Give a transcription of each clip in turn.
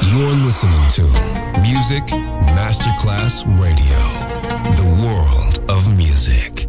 You're listening to Music Masterclass Radio, the world of music.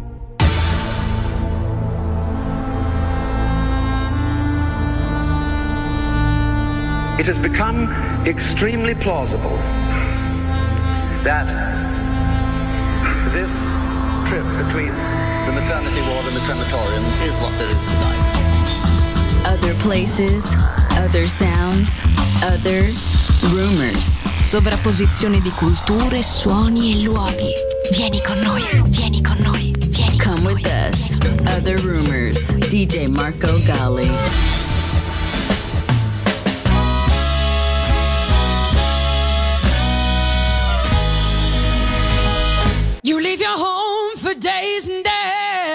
It has become extremely plausible that this trip between the maternity ward and the crematorium is what there is tonight. Other places, other sounds, other rumors. Sovrapposizione di culture, suoni e luoghi. Vieni con noi, vieni con noi, vieni con noi. Come with us. Other rumors. DJ Marco Gally. You leave your home for days and days,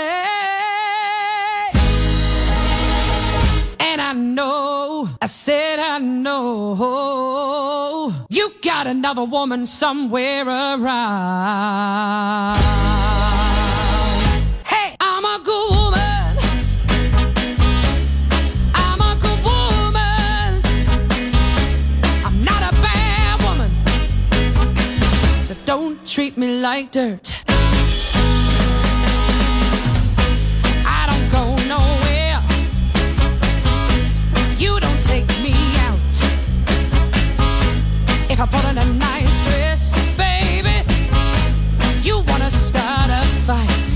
and I know, I said I know, you got another woman somewhere around. Hey, I'm a good woman, I'm a good woman, I'm not a bad woman, so don't treat me like dirt. I don't go nowhere. You don't take me out. If I put on a nice dress, baby, you wanna start a fight.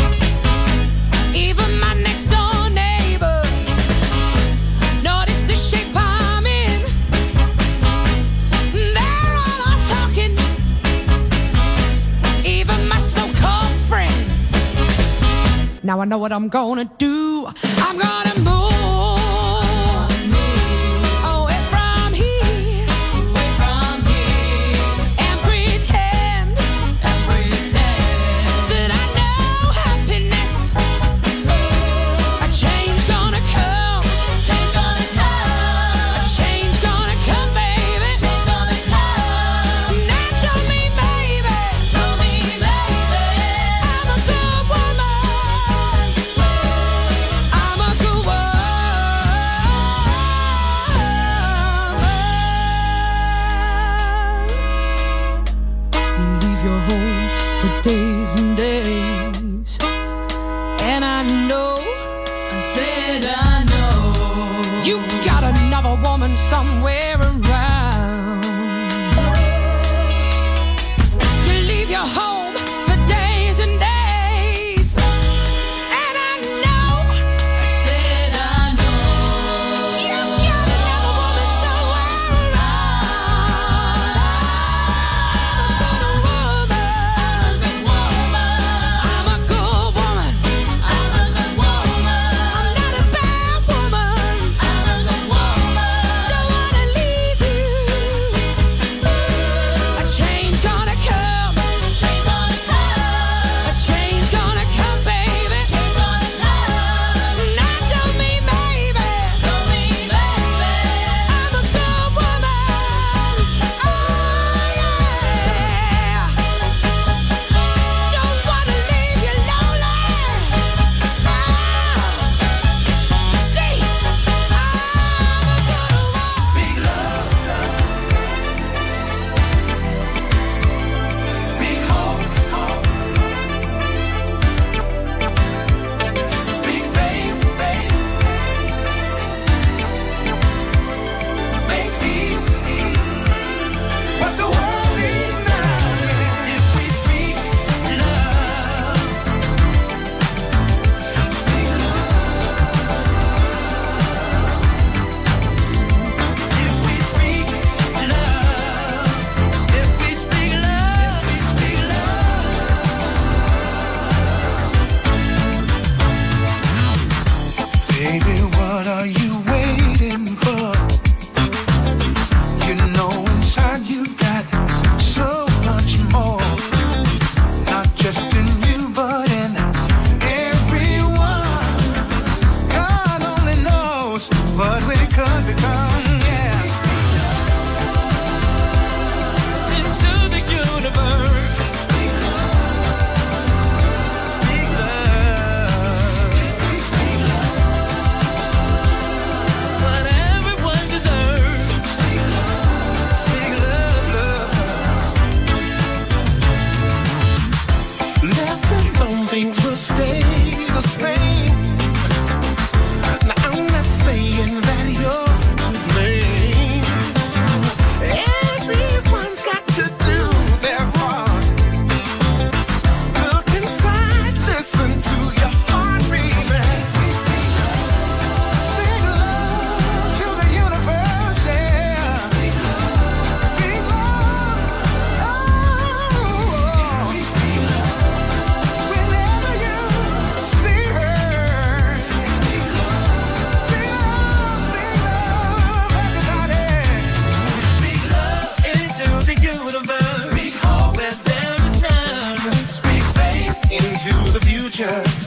Even my next door neighbor notice the shape I'm in. They're all off talking. Even my so-called friends. Now I know what I'm gonna do. I'm gonna move away from here, and pretend that I know happiness. A change gonna come, a change gonna come, baby. Now tell me, baby, I'm a good woman, I'm a good woman. You leave your home for days and days, and I know, I said I know, you got another woman somewhere around. You leave your home for days and days, and I know, I said I know, you got another woman somewhere around. I'm a good woman, I'm not a bad woman, don't wanna leave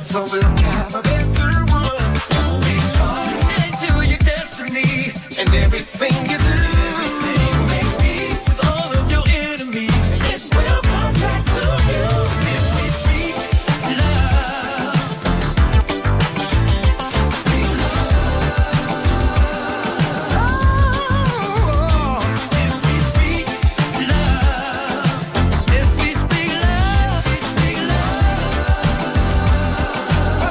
so we'll have a better one. Speak love into your destiny and everything you do. Make peace with all of your enemies. It will come back to you if we speak love. Speak love. Oh, if we speak love. If we speak love, we speak love.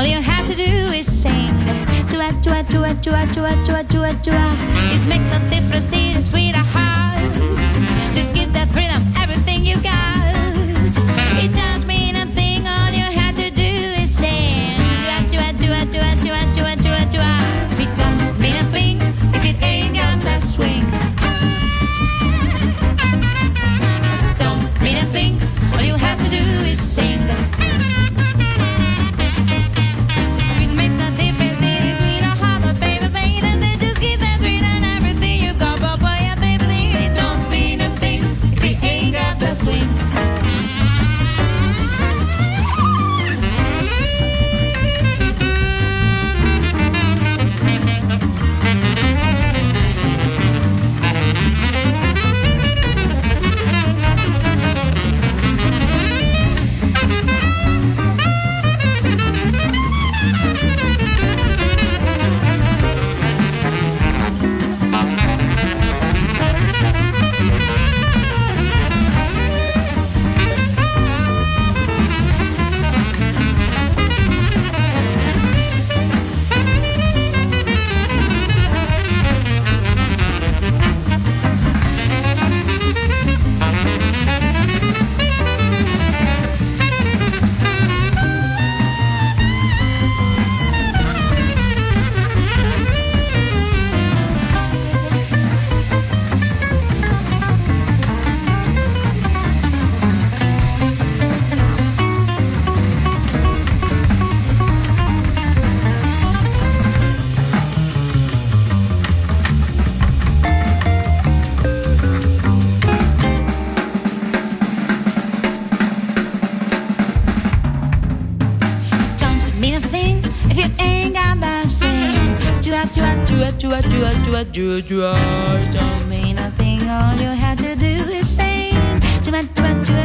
all you have to do is sing. Chua, chua, chua, chua, chua, chua, chua, chua. It makes no difference in a sweetheart. Just give that freedom everything you got. It don't mean a thing, all you have to do is sing. Chua, chua, chua, chua, chua, chua, chua. It don't mean a thing if you ain't got that swing. Don't mean a thing, all you have to do is sing. It makes no difference in a sweetheart, but baby, baby, then just give that freedom everything you got, but boy, yeah, baby, it don't mean a thing if you ain't got that swing. Don't mean a thing, all you have to do is sing. Makes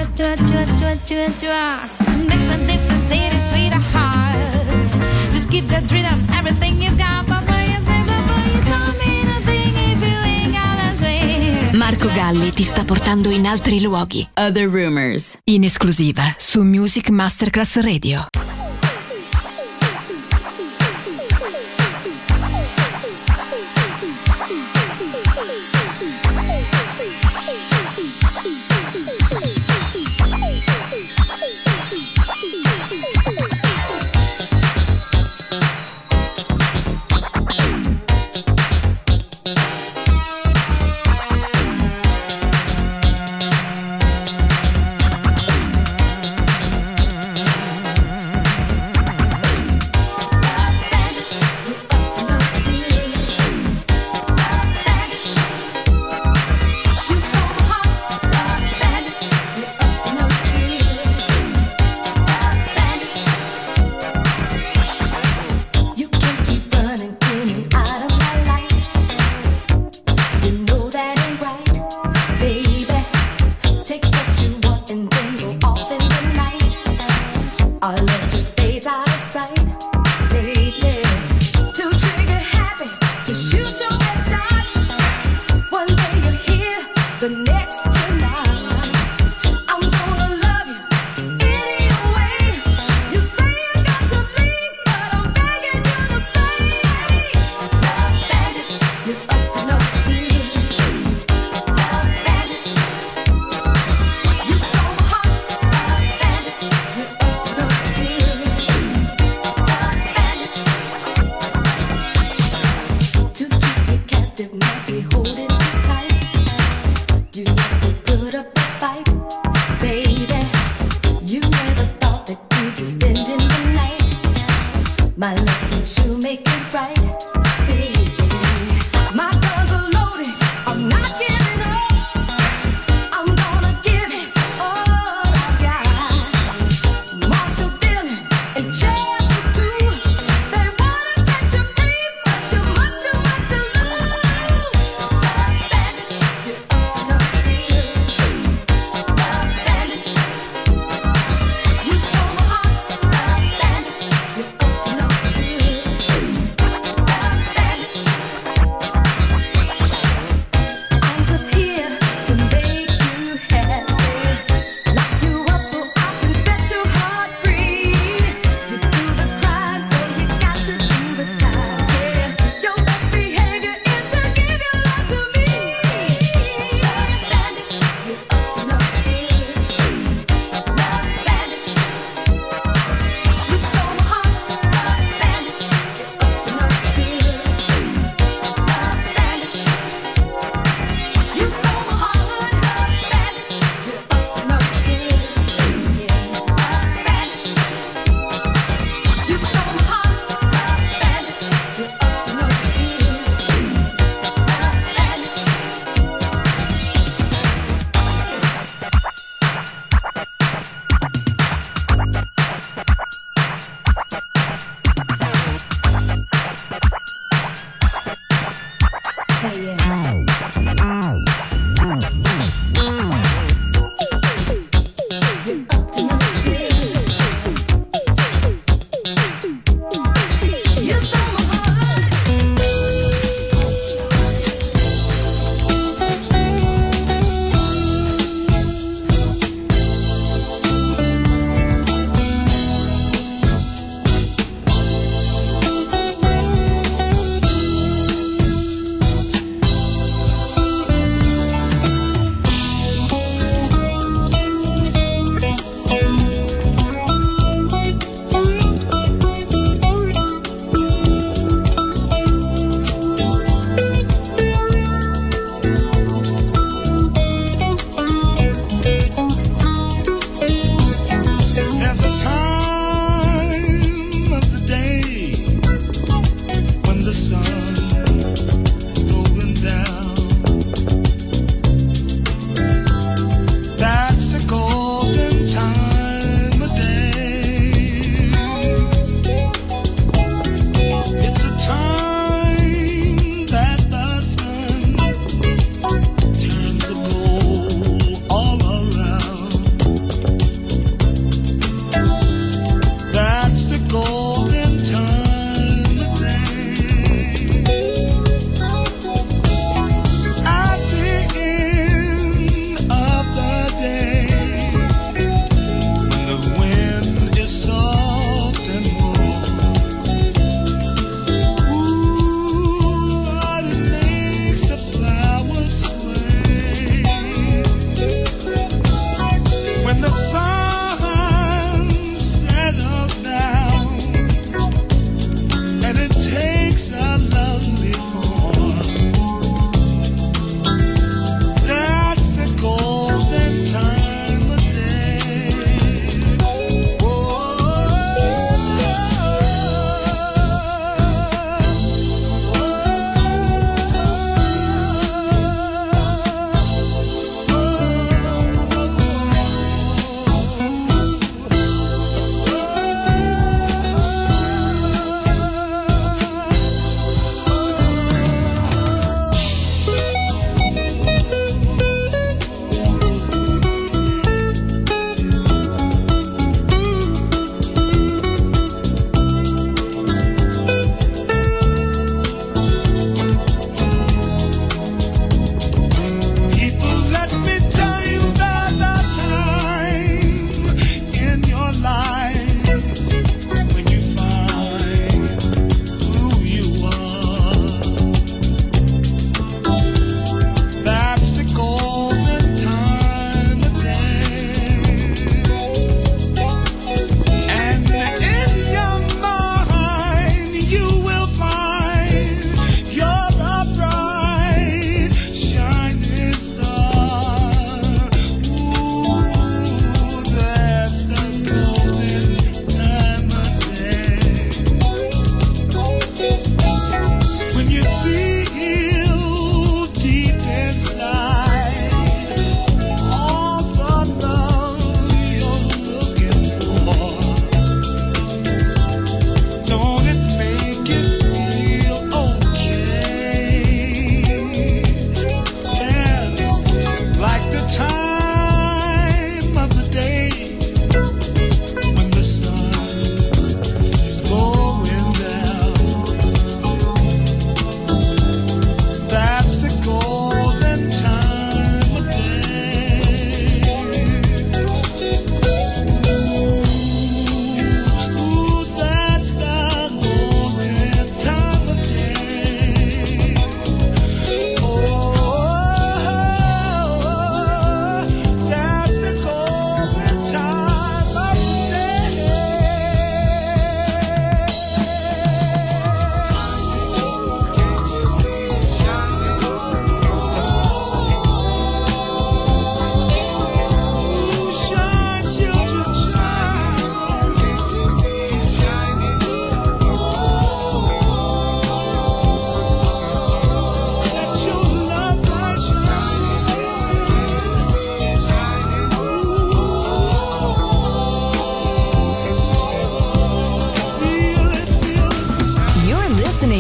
no difference in a sweetheart. Just keep that rhythm, everything you've got. Don't mean a thing if you ain't got a swing. Marco Galli ti sta portando in altri luoghi. Other Rumors, in esclusiva su Music Masterclass Radio.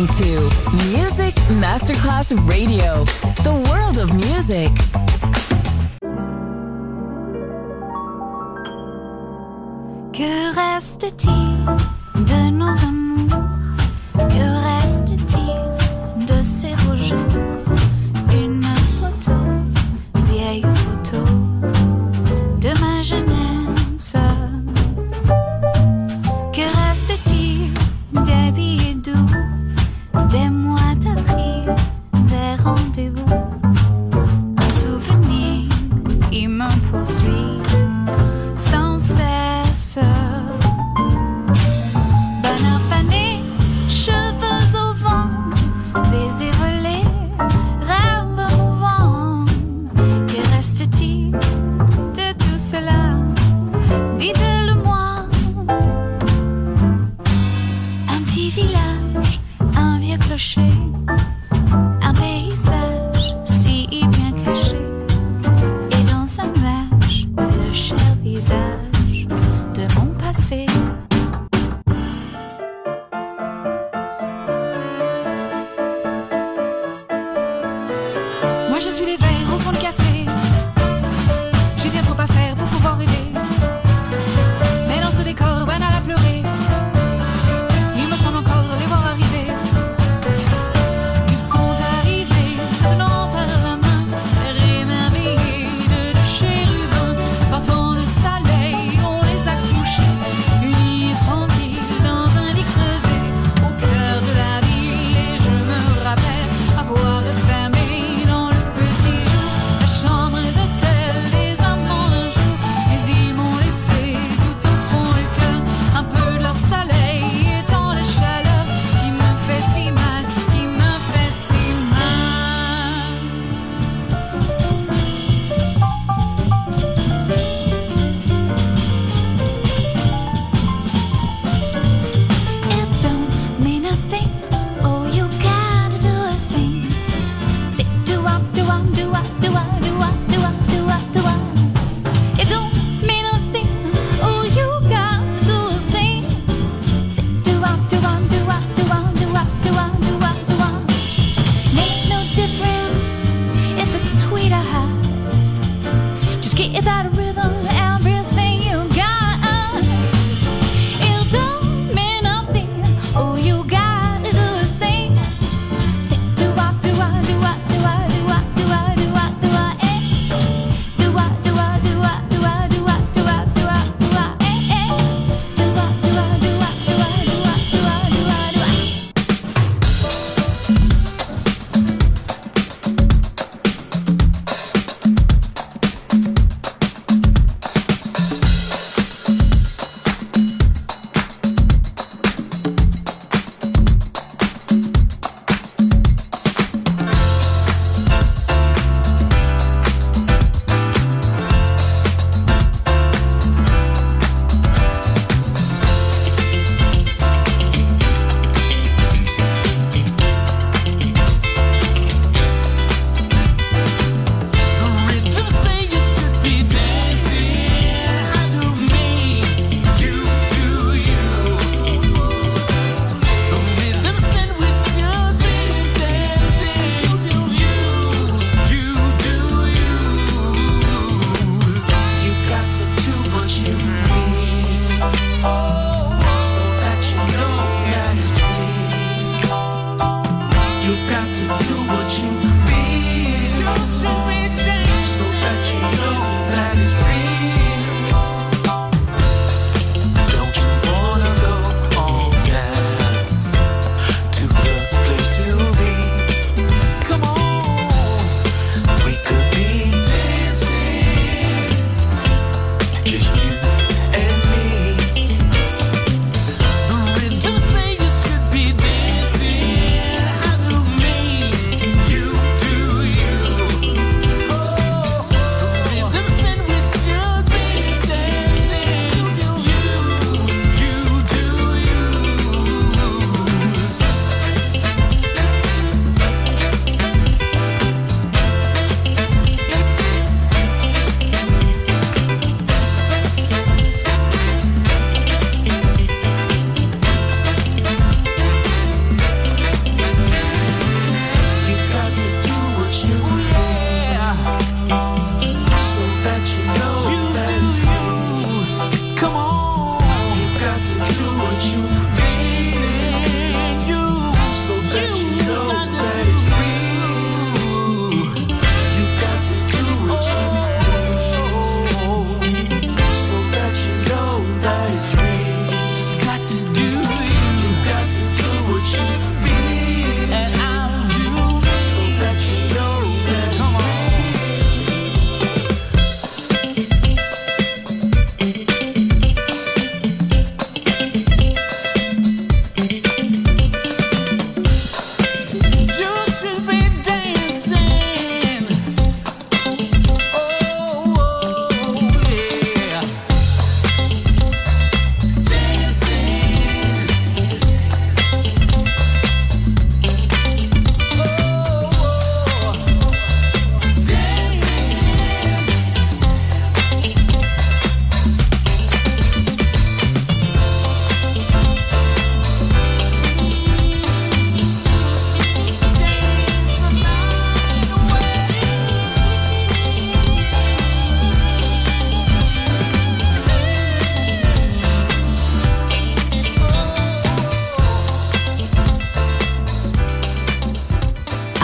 to Music Masterclass Radio, the world of music. Que reste-t-il de nos amours? Que reste-t-il de ces beaux jours? Une photo, vieille photo de ma jeunesse. Que reste-t-il des billets doux, des mois d'avril, des rendez-vous? Un souvenir, il me poursuit sans cesse. Bonheur fané, cheveux au vent, baisers volés, rêves mouvants. Que reste-t-il de tout cela? Dites-le-moi. Un petit village, un vieux clocher, un paysage si bien caché, et dans un nuage, le cher visage de mon passé. Moi je suis les verres au fond du café. J'ai bien trop à faire pour pouvoir rêver. Mais dans ce décor banal à pleurer, il me semble encore les voir arriver. Ils sont arrivés, se tenant par la main, émerveillés de chérubins. Portant le soleil, on les a couchés, unis tranquilles dans un lit creusé au cœur de la ville. Et je me rappelle avoir fermé dans le petit jour la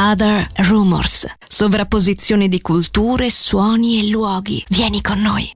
Other Rumors. Sovrapposizione di culture, suoni e luoghi. Vieni con noi.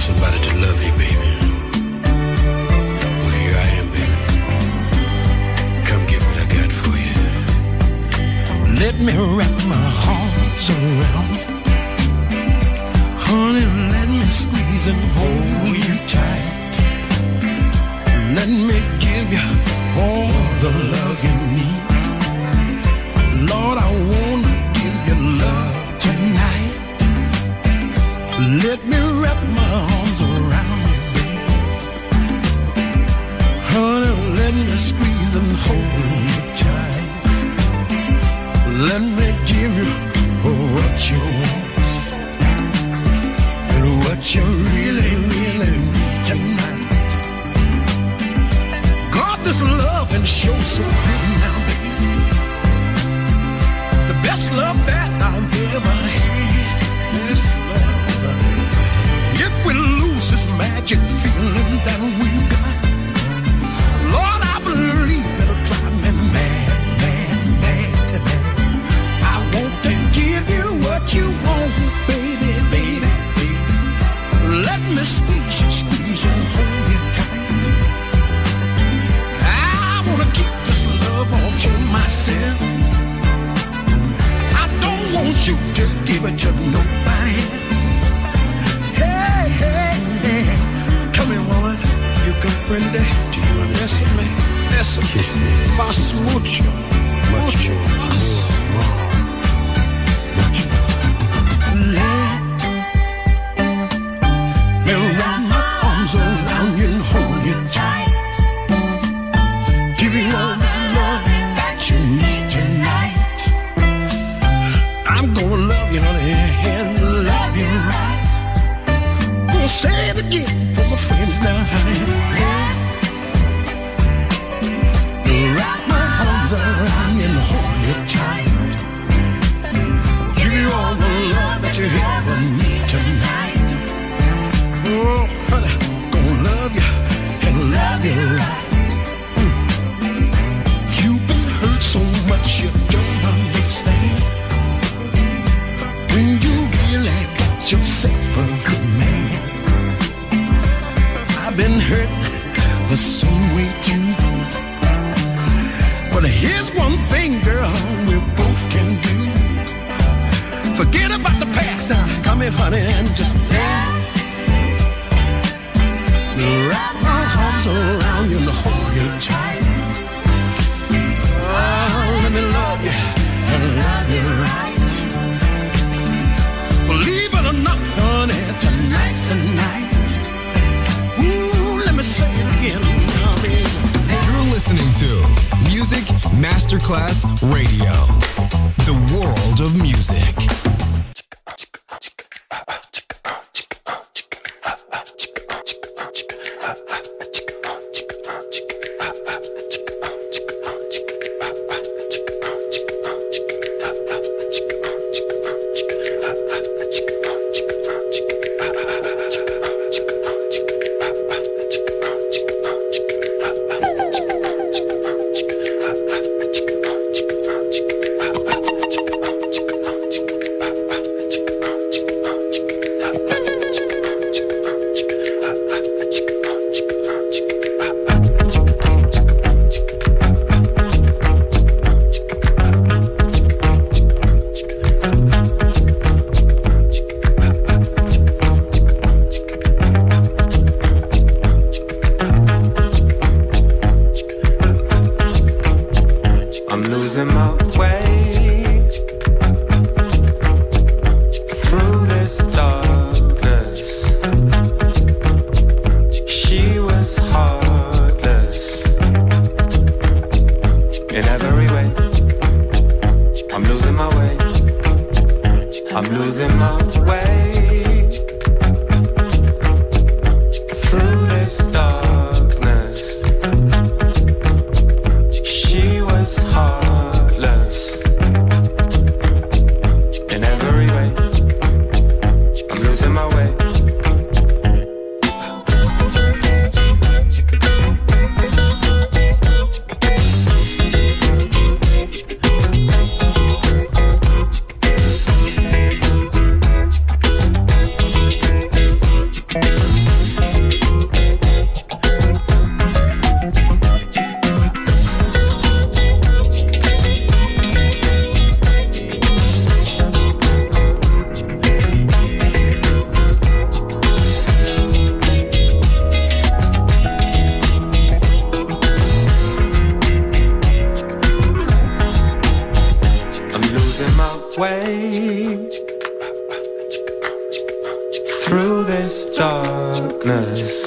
somebody to love you, baby. Well, here I am, baby. Come get what I got for you. Let me wrap my arms around you. Honey, let me squeeze and hold you tight. Let me give you all the love you need. Lord, I wanna give you love tonight. Let me wrap my arms around you, baby. Honey, let me squeeze and hold you tight. Let me give you what you want and what you really, really need tonight. God, this love and show so good now, baby. The best love that I've ever had. This love. If we lose this magic feeling that we got, Lord, I believe it'll drive me mad, mad, mad tonight. I want to give you what you want, baby, baby, baby. Let me squeeze you and hold you tight. I wanna keep this love all to myself. I don't want you to give it to nobody else. Hey, hey, hey, come here, woman. You comprende? Do you understand me? Listen, kiss me. Más mucho, mucho más. Mucho. Let me wrap my arms around you and hold you tight. Give you all this love that you need tonight. I'm gonna love you, honey, and love you right. Gonna say it again for my friends now, honey. Wrap my arms around you and hold you tight. Give you all the love that you ever need tonight. Oh, honey, gonna love you and love you right. You've been hurt so much you don't understand. When you really got yourself a good man. I've been hurt the same way too. But here's one thing, girl, we both can do. Forget about the past now. Come here, honey, and just wrap my arms around you and hold you tight. Oh, let me love you and love you right. Believe it or not, honey, tonight's the night. Ooh, let me say it again, honey. You're listening to Music Masterclass Radio, the world of music. through this darkness.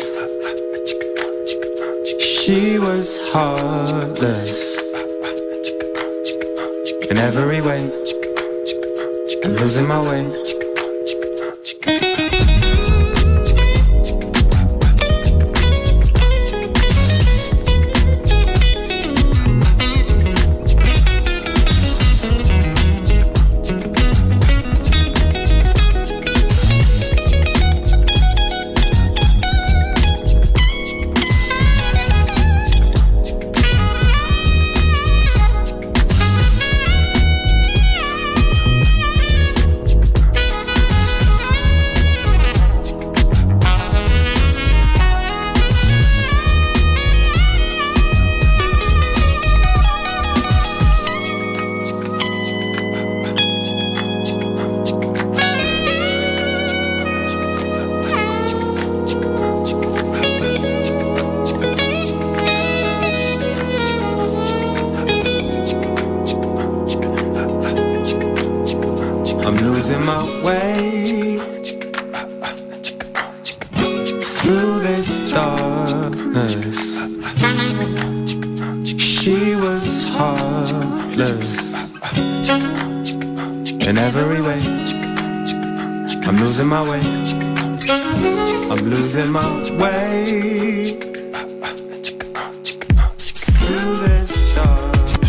She was heartless in every way. I'm losing my way. I'm losing my way through this darkness. She was heartless in every way. I'm losing my way. I'm losing my way through this darkness.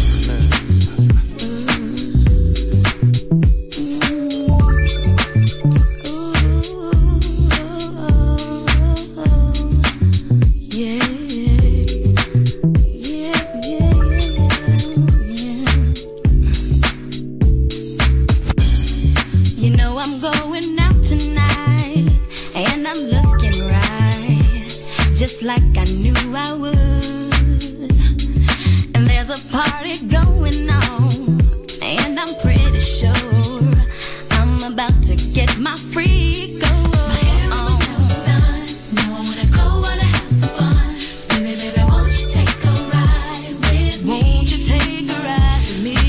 Like I knew I would. And there's a party going on, and I'm pretty sure I'm about to get my freak on. My hair on. Done. Now I wanna go, wanna have some fun. Baby, baby, won't you take a ride with me? Won't you take a ride with me?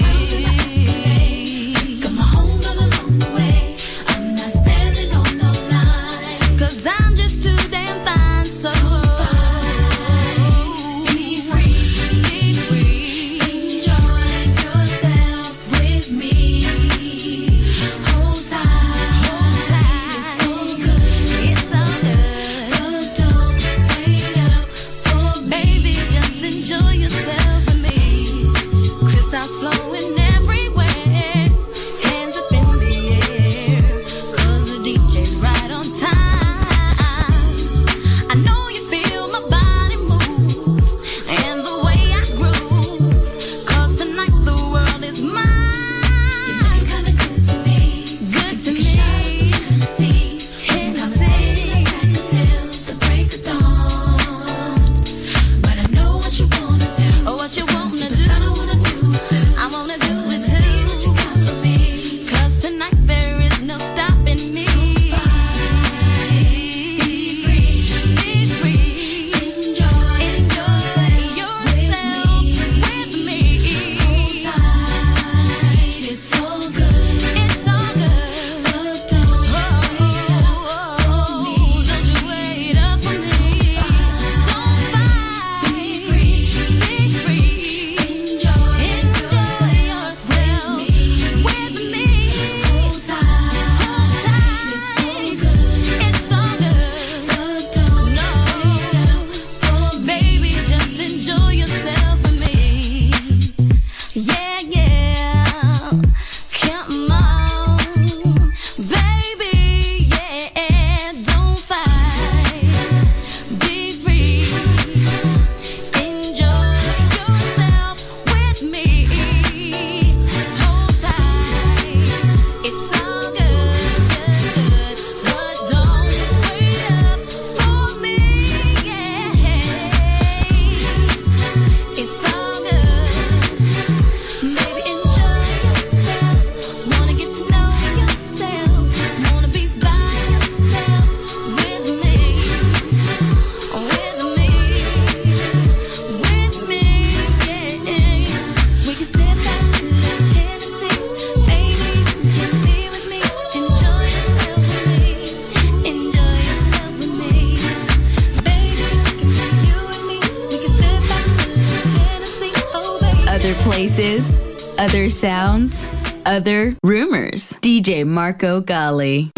Got my home goes along the way. I'm not standing on no line, 'cause I'm just too damn fine. So places, other sounds, other rumors. DJ Marco Gally.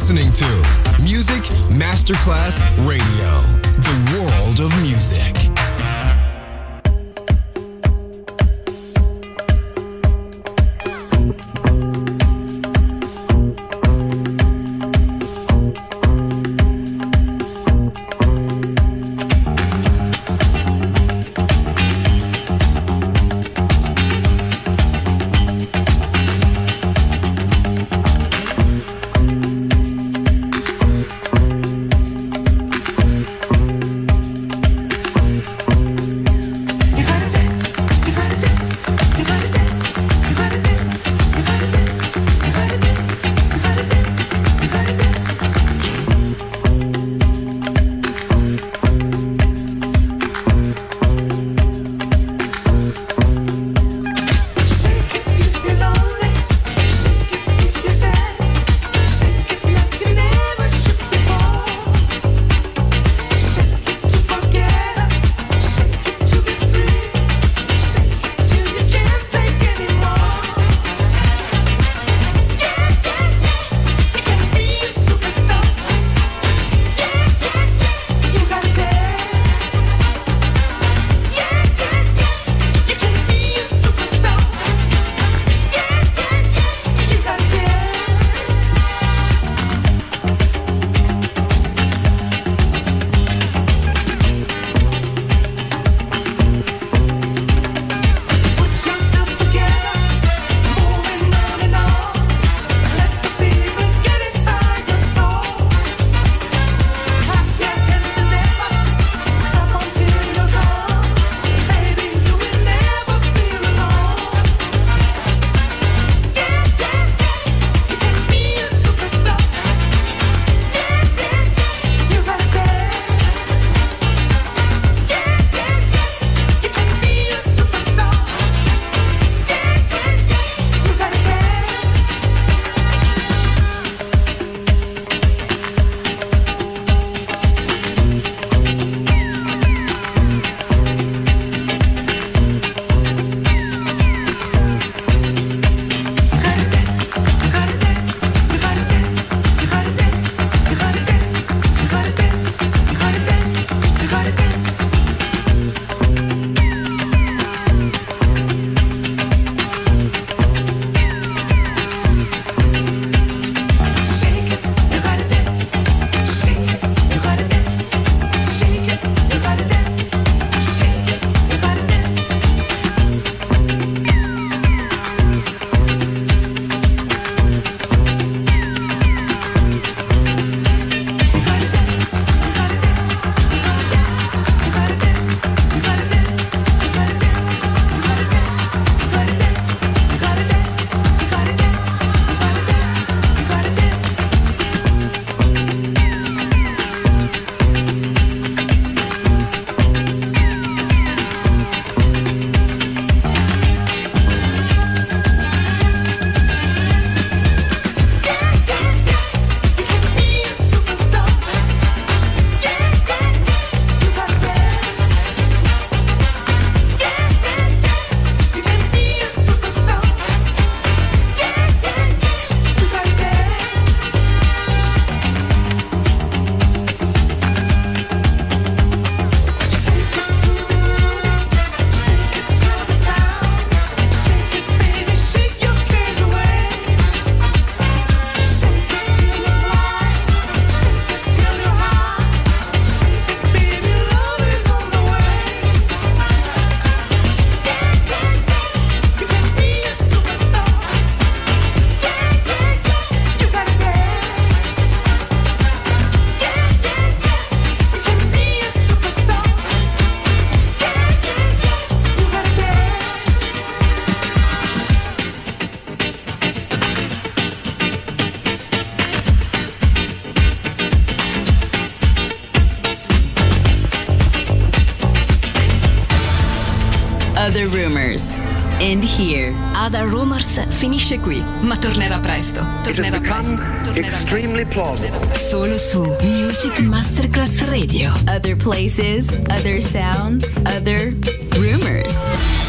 listening to Music Masterclass Radio, the world of music. Other Rumors. End here. Other Rumors finisce qui, ma tornerà presto. Tornerà presto. Extremely plausible. Solo su Music Masterclass Radio. Other places, other sounds, other rumors.